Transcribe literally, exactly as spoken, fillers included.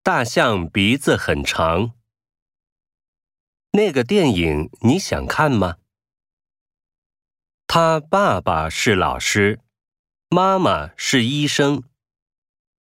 大象鼻子很长。那个电影你想看吗？他爸爸是老师，妈妈是医生，